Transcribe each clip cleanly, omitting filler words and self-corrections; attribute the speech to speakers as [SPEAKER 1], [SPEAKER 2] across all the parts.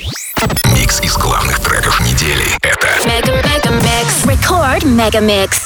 [SPEAKER 1] Микс из главных треков недели. Это
[SPEAKER 2] Mega Mix. Record Mega Mix.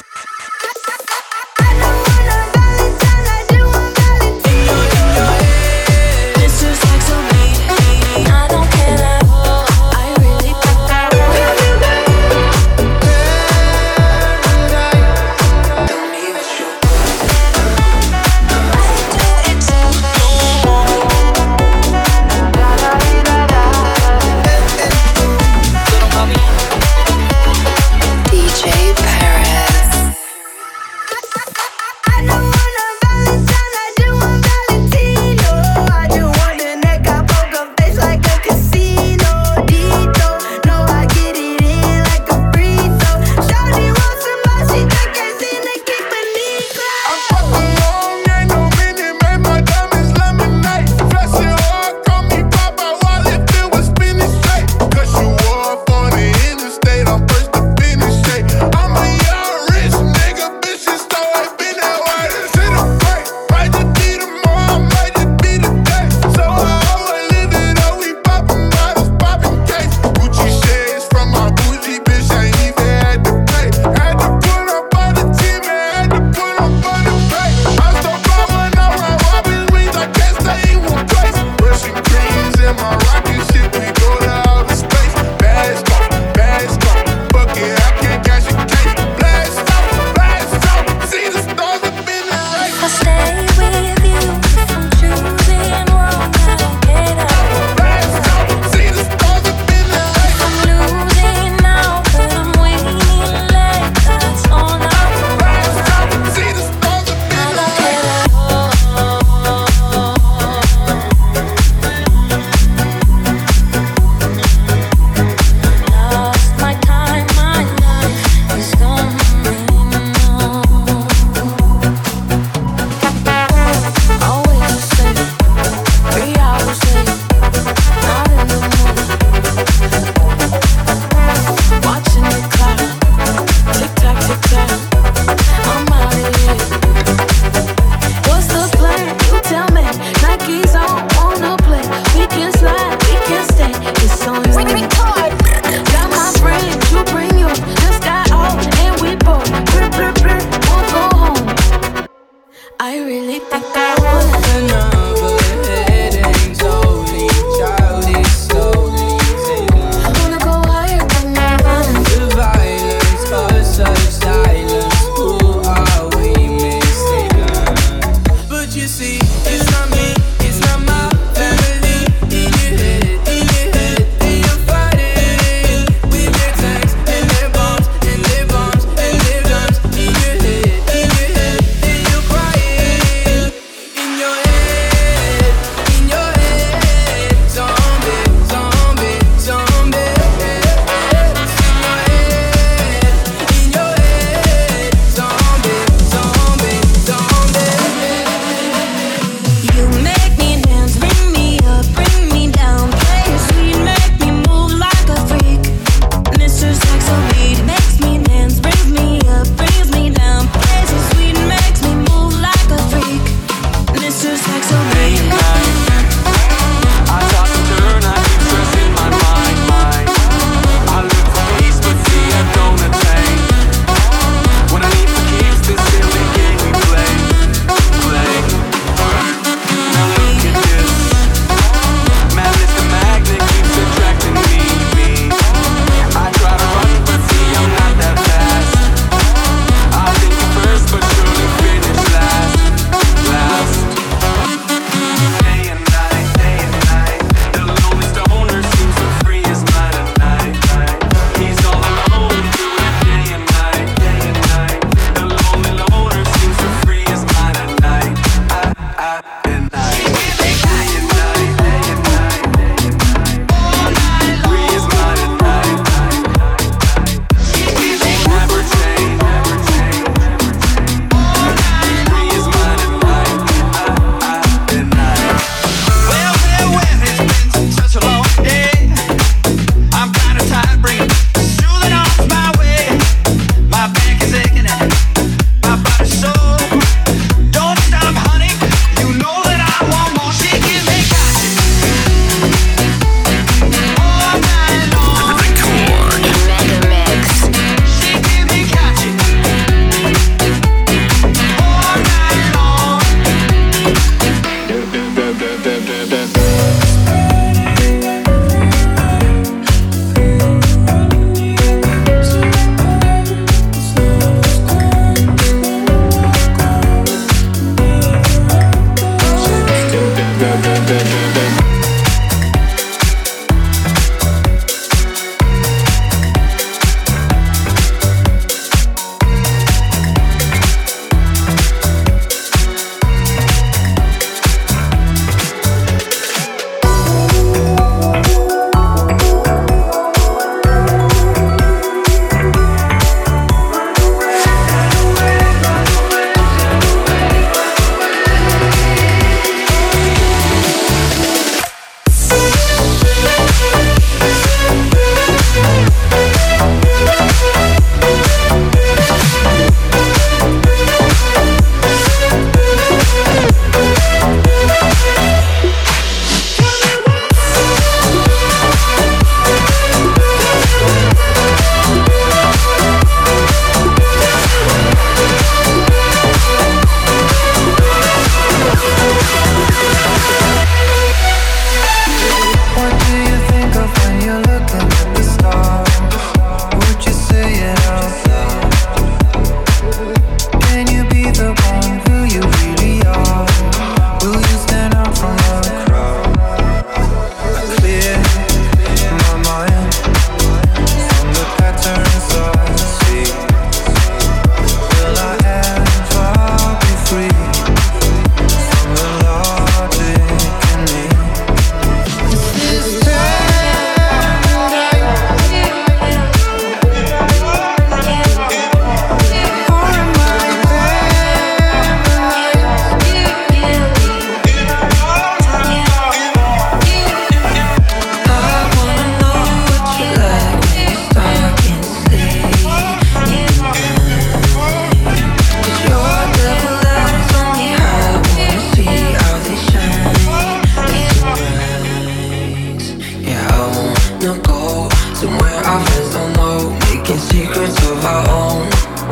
[SPEAKER 3] wanna go somewhere our friends don't know, making secrets of our own.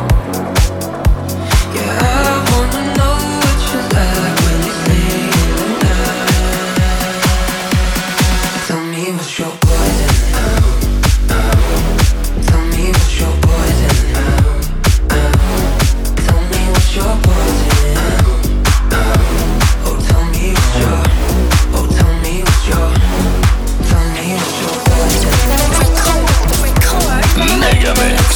[SPEAKER 3] Yeah, I wanna know what you're like when you sleep at night. Tell me what's your poison. Tell me what's your poison. Tell me what's your poison. Oh, tell me what's your. Oh, tell me what's your. Tell me what's your poison.
[SPEAKER 1] Megamix.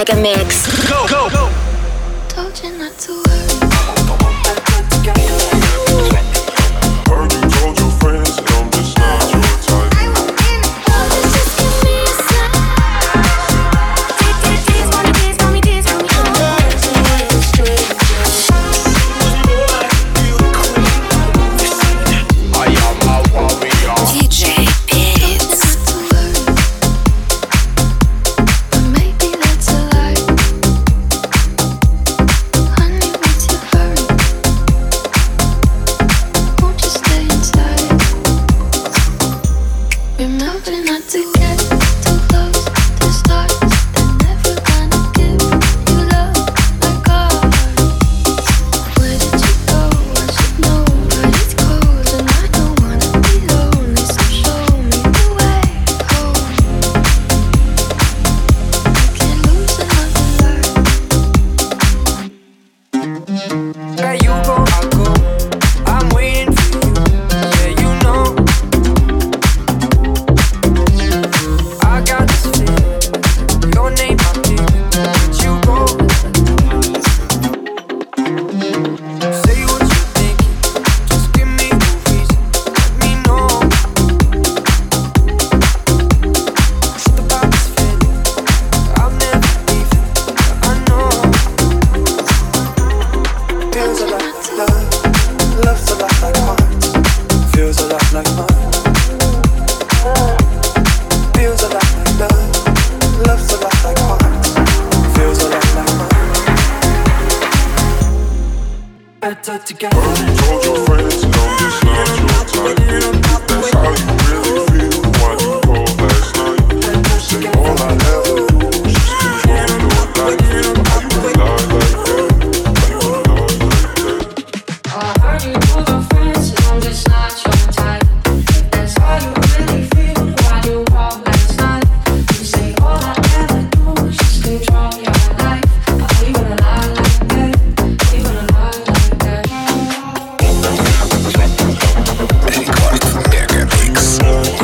[SPEAKER 2] Mega Mix.
[SPEAKER 4] Go, go, go.
[SPEAKER 5] Told you not to worry.
[SPEAKER 6] Heard you told your friends that I'm just not your type.
[SPEAKER 5] Just give me a sign. Dance for me, dance for me, dance for me.
[SPEAKER 1] I am a warrior.
[SPEAKER 2] DJ Beats.
[SPEAKER 5] But maybe that's a lie. Honey, what's your hurry? Won't you stay inside? Remember not to get too close to stars. They're never gonna give you love like ours. Where did you go? I should know, but it's cold and I don't wanna be lonely. So show me the way home. I can't lose another life.
[SPEAKER 3] Where you go, I go. I'm waiting for you. Yeah, you know. I got this feeling. Your name, I'm feeling. Let you go. Say what you're thinking. Just give me the reason. Let me know. Trip about this feeling. I'll never leave it. I know.
[SPEAKER 7] Feels a lot like love, love's a lot like hearts, feels a lot like mine. Feels a lot like love, love's a lot like hearts, feels a lot like mine. Better together.
[SPEAKER 6] Heard you told your friends that I'm just not your type. That's how you really feel. Why you called last night? You say all I ever do is just control your life. How you lie like that? How you lie like that?
[SPEAKER 8] I heard you told your friends that I'm just not your type. If that's how you really feel, why you call last night? You say all I ever do is just control your life. Are you gonna lie like that? Are you gonna lie like that?
[SPEAKER 1] Рекорд Мегамикс.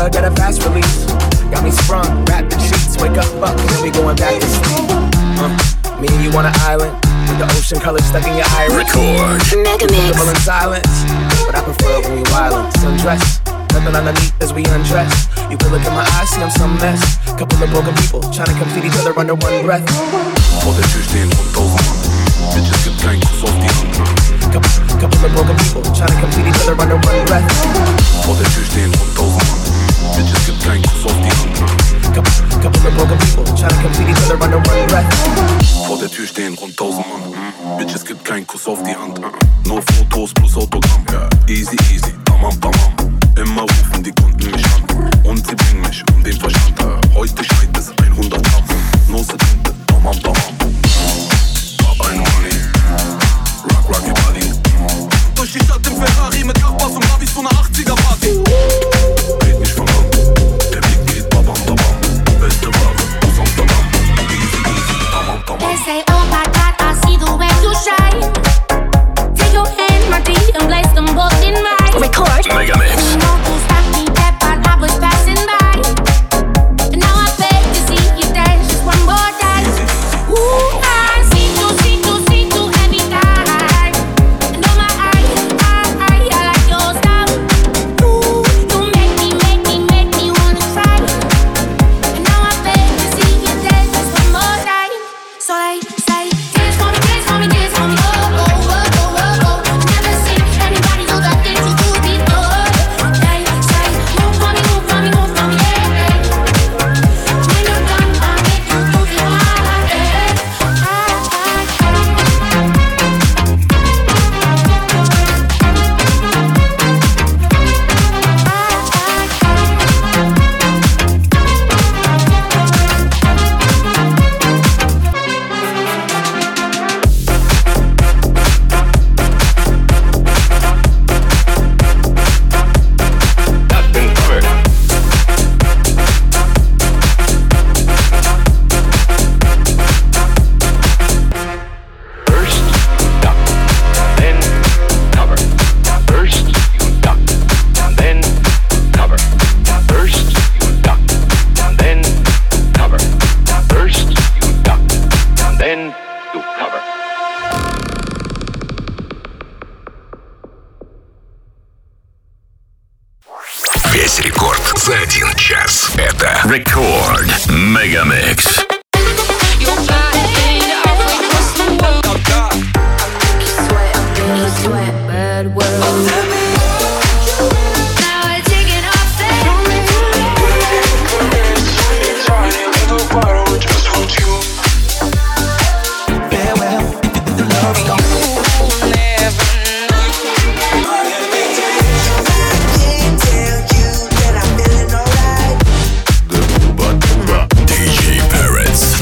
[SPEAKER 4] drug at a fast release. Got me sprung, wrapped in sheets. Wake up, fuck, and then we going back to sleep. Me and you on an island with the ocean color stuck in your iris.
[SPEAKER 2] Record. Mega Mix.
[SPEAKER 4] Comfortable in silence, but I prefer when we wildin'. Sundress, nothing underneath as we undress. You can look in my eyes, see I'm some mess. Couple of broken people trying to complete each other under one breath.
[SPEAKER 6] Vor der Tür stehen und 1000 Mann. Bitches gibt keinen Kuss auf die Hand.
[SPEAKER 4] Couple of broken people trying to complete each other under one breath.
[SPEAKER 6] Vor der Tür stehen und 1000 Mann. Bitches gibt keinen Kuss auf die Hand.
[SPEAKER 4] Couple of broken people trying to complete each other under one breath.
[SPEAKER 6] Vor der Tür stehen rund 1000 Mann. Bitches gibt keinen Kuss auf die Hand. Nur Fotos plus Autogramm. Easy, easy, tamam, tamam. Immer rufen die Kunden mich an. Und sie bringen mich um den Verstand. Heute schneit es 100 Gramm. Nose Tinte, tamam, tamam. Pop ein Money. Rock, rocky body. Durch die Stadt im Ferrari mit Nachbars und Ravis zu einer 80er-Party. Red nicht von Hand. Der Blick geht babam, babam. Beste Ware aus Amsterdam. Easy, easy, tamam, tamam.
[SPEAKER 5] They say, oh my God, I see the way you shine. Take your hand, my dear, and place them both in mine.
[SPEAKER 2] Record. Mega Mix.
[SPEAKER 5] You know who stopped me dead while I was passing by. And now I beg to see you dance just one more time. Ooh, I see you every time. And oh my, I like your style. Ooh, you make me wanna try. And now I beg to see you dance just one more time. So they say, dance for me, dance for me, dance for me. Oh, oh, oh, oh, oh, oh. Never seen anybody do the things you do before. They say, move for me, move for me, move for me, yeah, yeah. When you're done, I'll make you move it hard, yeah.
[SPEAKER 1] That's been covered. First you duck, then cover. First you duck, then cover. First you duck, then cover. First you duck, then you cover.
[SPEAKER 2] Весь рекорд за 1 час. Это Record Mega Mix. DJ Parrots.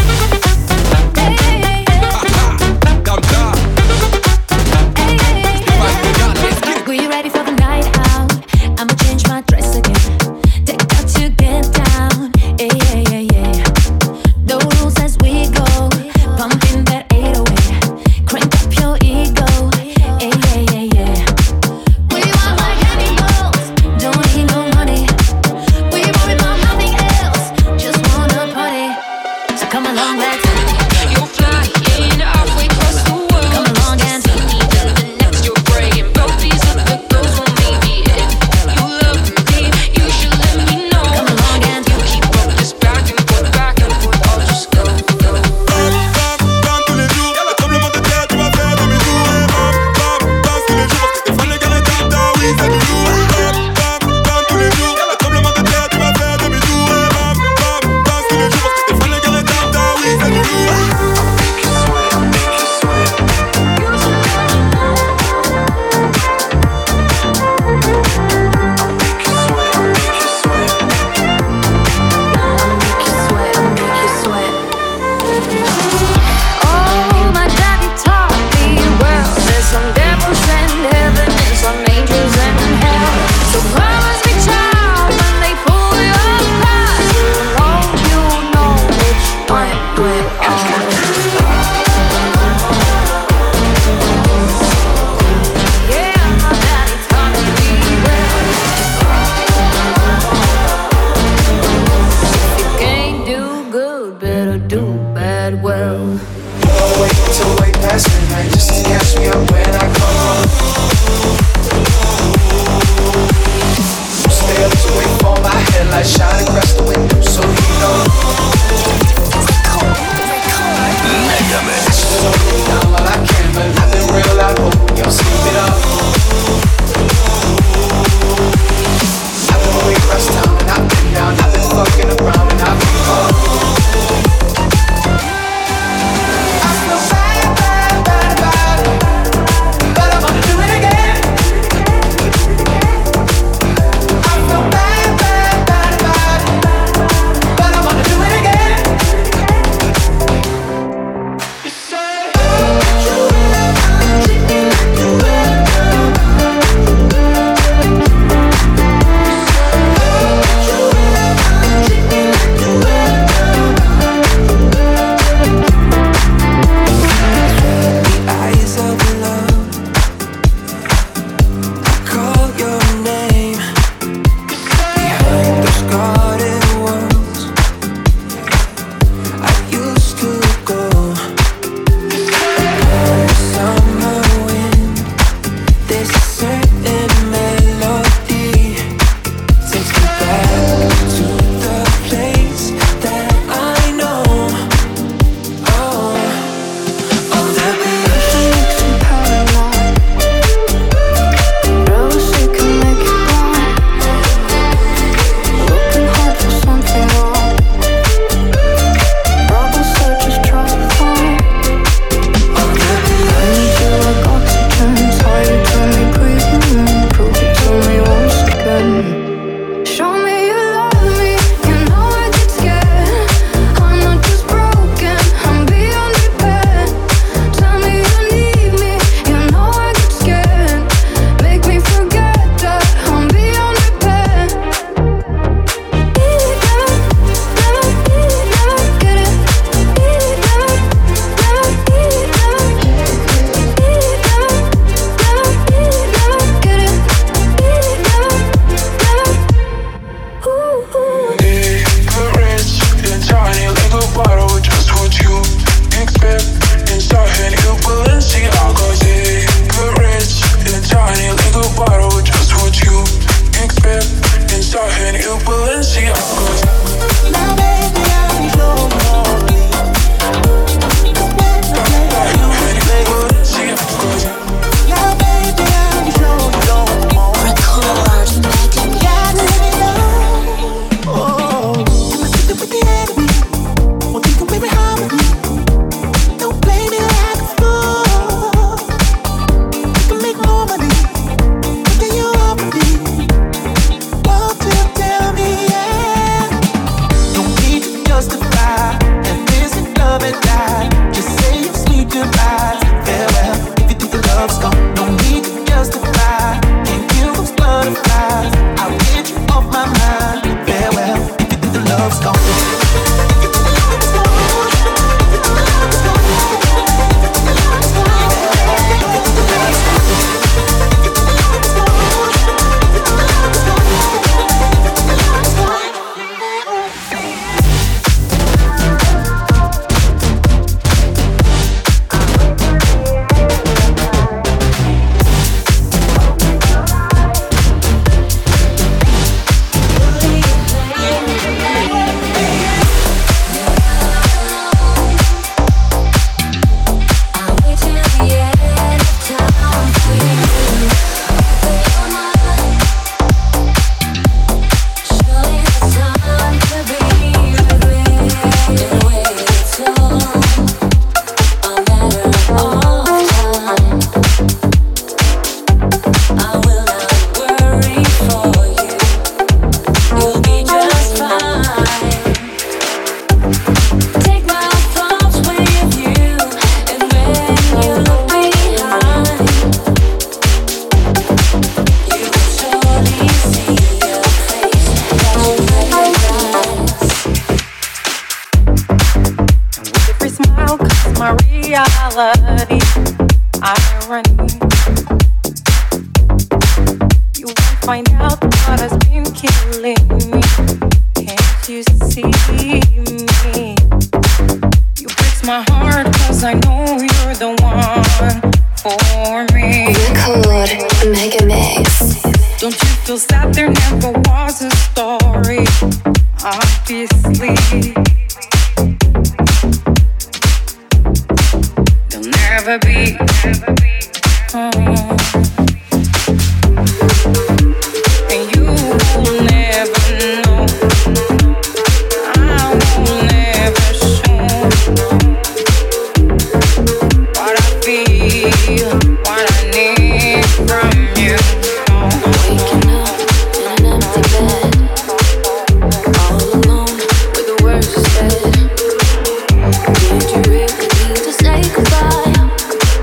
[SPEAKER 5] Were you ready for the night out? I'ma change my dress again. Take out to get down. Yeah, yeah, yeah, yeah. The rules as we go. Pumping that 808. Crank up your ego. Yeah, yeah, yeah, yeah. We want like animals. Don't need no money. We worry about nothing else. Just wanna party. So come along, let's
[SPEAKER 8] You're flying halfway across the world.
[SPEAKER 5] come along and
[SPEAKER 8] Next you're praying. Both these other girls will
[SPEAKER 9] reality, irony. You won't find out what has been killing me. Can't you see me? You breaks my heart 'cause I know you're the one for me.
[SPEAKER 5] Record Mega Mix.
[SPEAKER 9] Don't you feel sad there never was a story? Obviously there'll never be. And you will never know. I will never show what I feel, what I need from you.
[SPEAKER 5] Waking up in an empty bed, all alone with the words you said. Did you really need to say goodbye?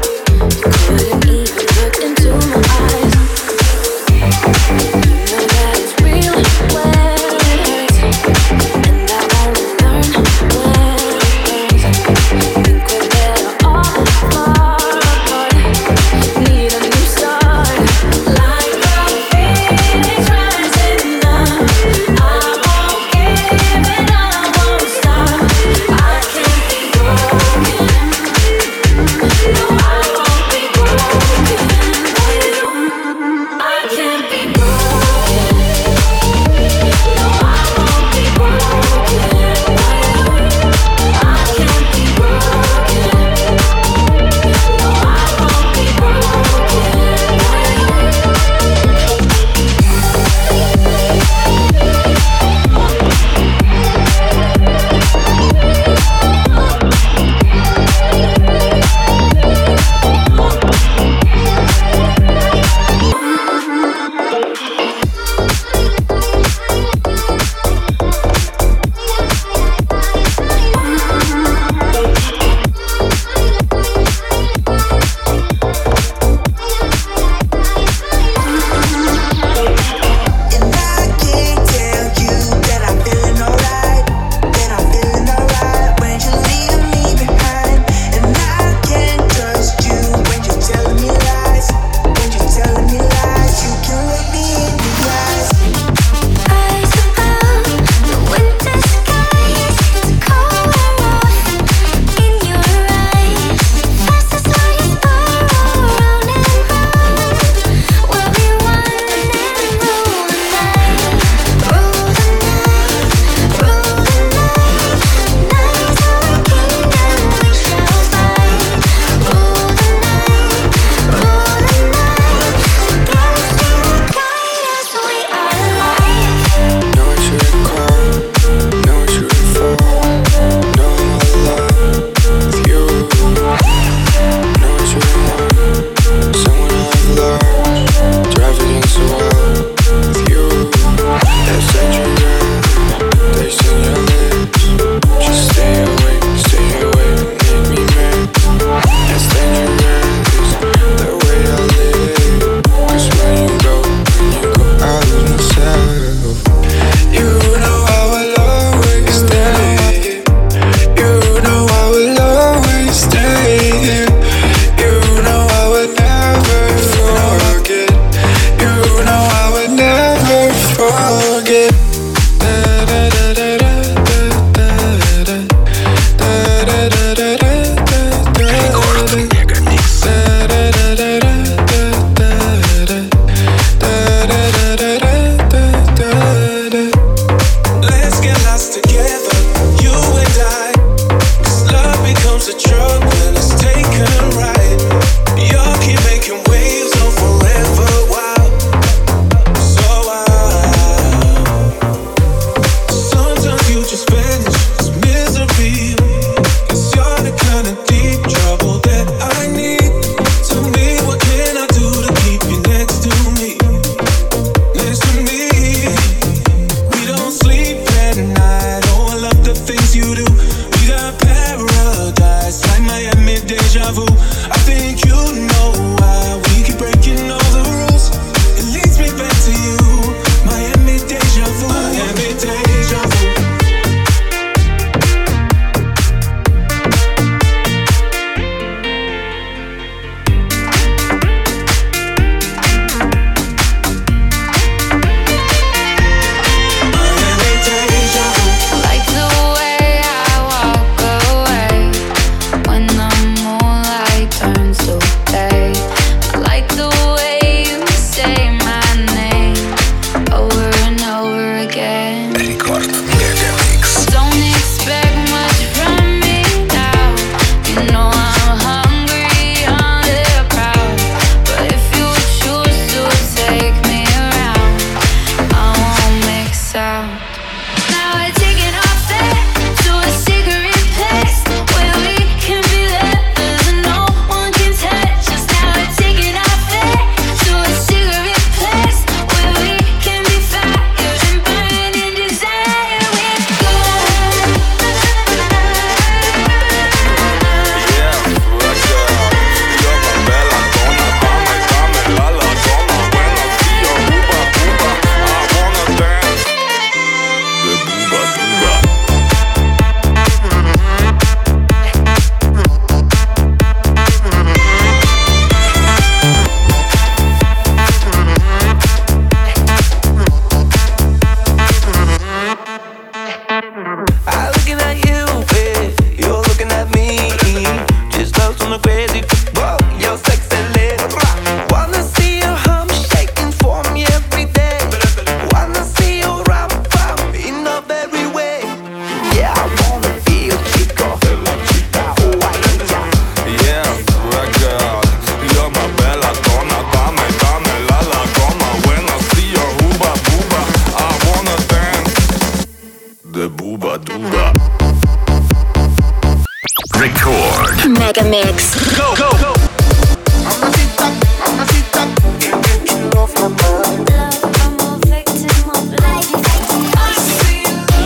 [SPEAKER 10] Mega Mix.
[SPEAKER 4] Go, go, go. Mamacita, mamacita, can't get you off my mind.
[SPEAKER 5] I'm a victim of life. I see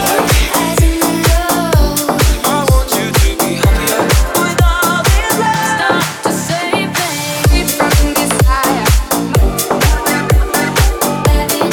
[SPEAKER 5] love.
[SPEAKER 4] I want you to be happier.
[SPEAKER 5] With all this love, stop to save me from desire. Baby,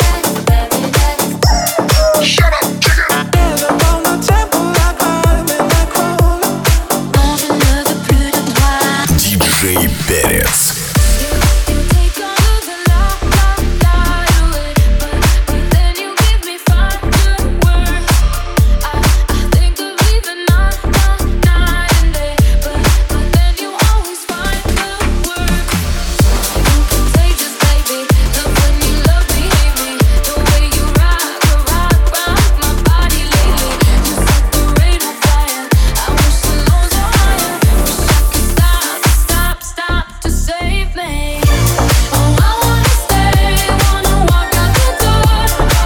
[SPEAKER 5] that's
[SPEAKER 2] Shut up, chicken.
[SPEAKER 4] On the temple like I'm in that crowd.
[SPEAKER 5] on je ne veux plus de toi.
[SPEAKER 2] DJ Перец.
[SPEAKER 5] You take all of the love away, but then you give me fireworks. I think of leaving night and day, but then you always find the words. You contagious, baby. Love when you love me, hate me. The way you rock my body lately. Just like the rain on fire. I wish the lows were higher. Wish I could stop to save me. Oh, I wanna stay, wanna walk out the door.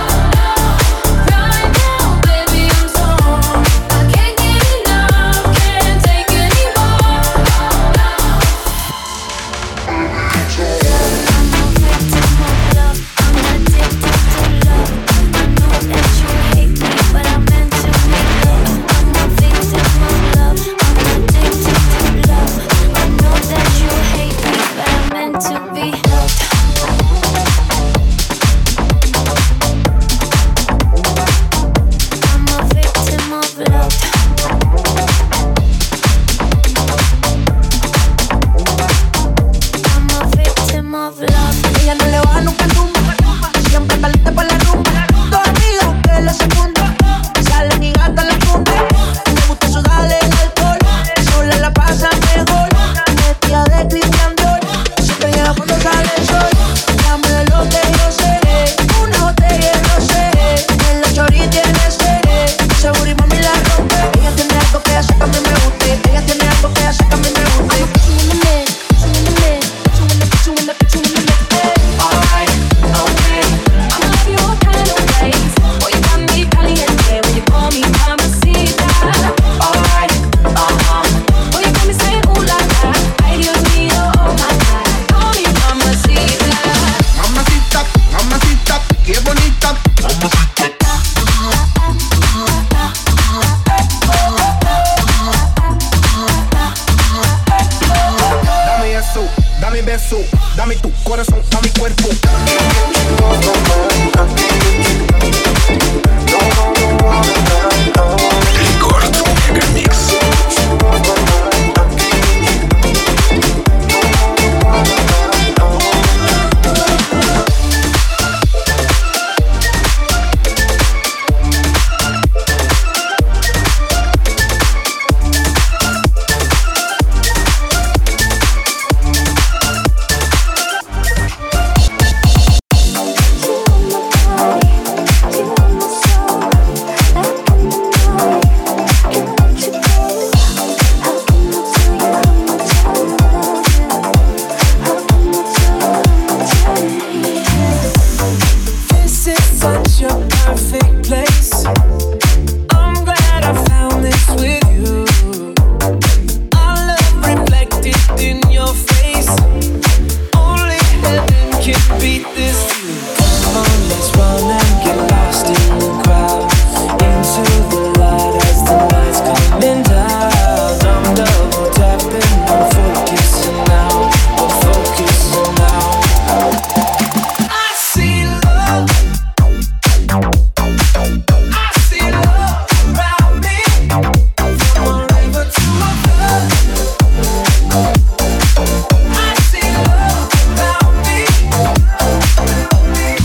[SPEAKER 5] Right now, baby, I'm torn. I can't get enough, can't take anymore. I'm a victim of love, I'm addicted to love. I know that you hate me, but I'm meant to make love. I'm a victim of love, I'm addicted to love. I know that you hate me, but I'm meant to be loved. I'm a victim of love. I'm a victim of love.
[SPEAKER 11] Ella no le baja nunca el rumbo, siempre está lista para la rumba. Dos amigos que la secundan, salen y gastan la punta. Le gusta sudarle el alcohol, sola la pasa mejor. Vestida de Christian Dior, siempre llega cuando sale el sol. Dame de lo que yo sé, una botella de rosé. En la chori tiene sed, seguro y mami la rompe. Ella tiene algo que hace que a mí me guste, ella tiene algo que hace que a mí me guste.
[SPEAKER 5] Alright, okay. I love your kind of ways. Boy, you got me caliente when you call me mamacita. Alright, boy, you got me saying ooh la la. Ay, Dios mío, oh my God. Call me mamacita.
[SPEAKER 4] Mamacita, mamacita, qué bonita. Dame eso, dame beso, dame tu corazón, dame cuerpo.
[SPEAKER 2] Рекорд Мега Микс.
[SPEAKER 11] This is such a perfect place. I'm glad I found this with you. Our love reflected in your face. Only heaven can beat this view. Come on, let's run and get lost in the crowd. Into the light as the night's coming down. I'm double tapping, I'm focusing now. We're focusing now. I see love. I see love around me. From a river to a flood. I see love around me.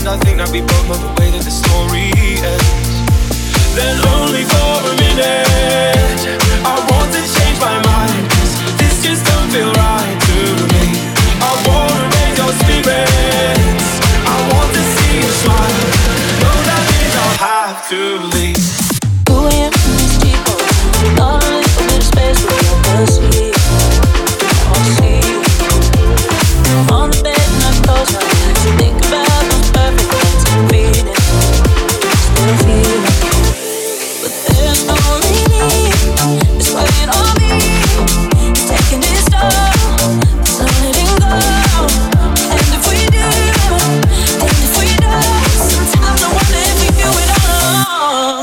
[SPEAKER 11] I think that we both know the way that the story ends. Then only for a minute I want to change my mind, 'cause this just don't feel right to me. I wanna raise your spirits, I want to see you smile. No, that means I'll have to leave.
[SPEAKER 10] Who am I, these people? Not a little bit of space for privacy. I'll see you on the bed and I close my eyes. Think about those perfect nights and feelings. Still feeling, but there's no relief. It's weighing on me, it's taking its toll. So letting go. And if we do, and if we don't, sometimes I wonder if we do it all.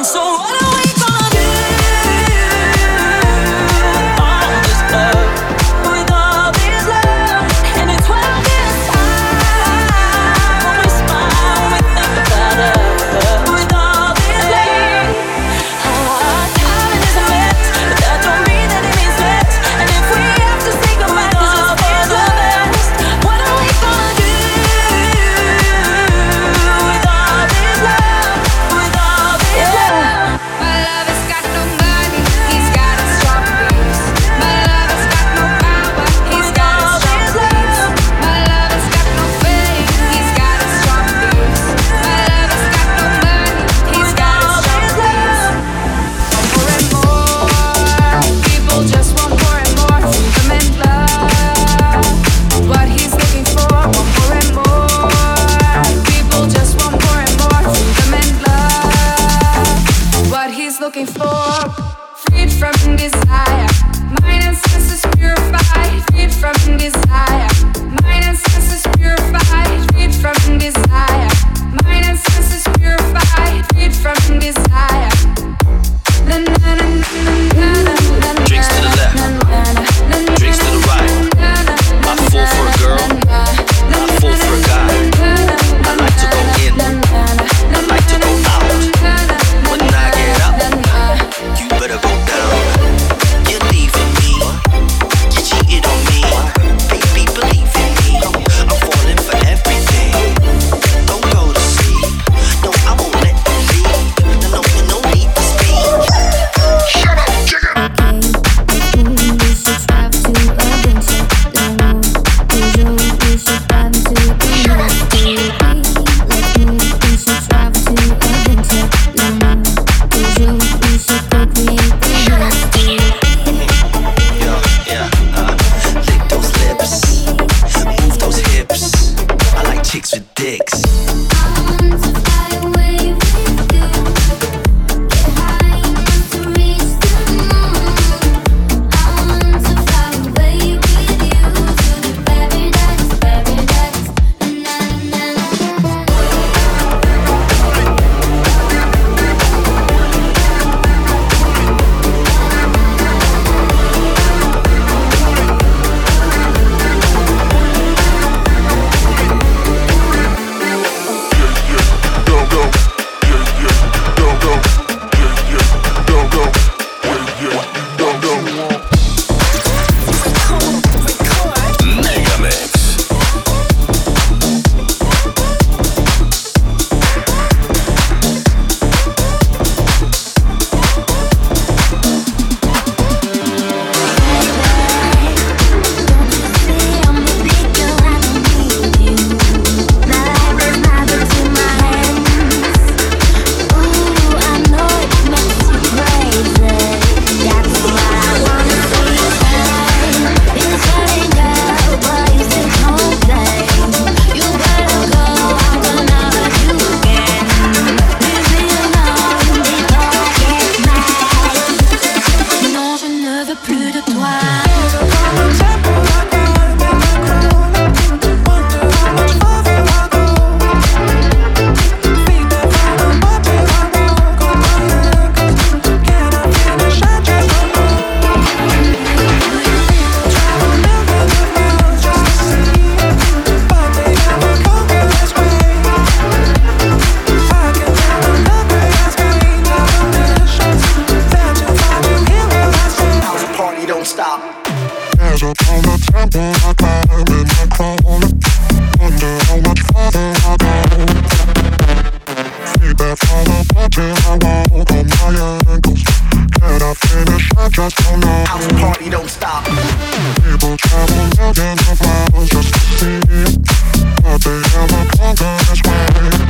[SPEAKER 4] stop.
[SPEAKER 6] People travel millions of miles just to see it, but they never conquer this way.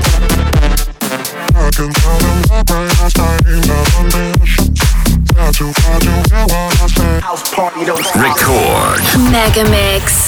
[SPEAKER 6] I can tell them the greatest days of ambitions. They're too far to hear what I say.
[SPEAKER 4] House party don't stop.
[SPEAKER 2] Record.
[SPEAKER 12] Mega Mix.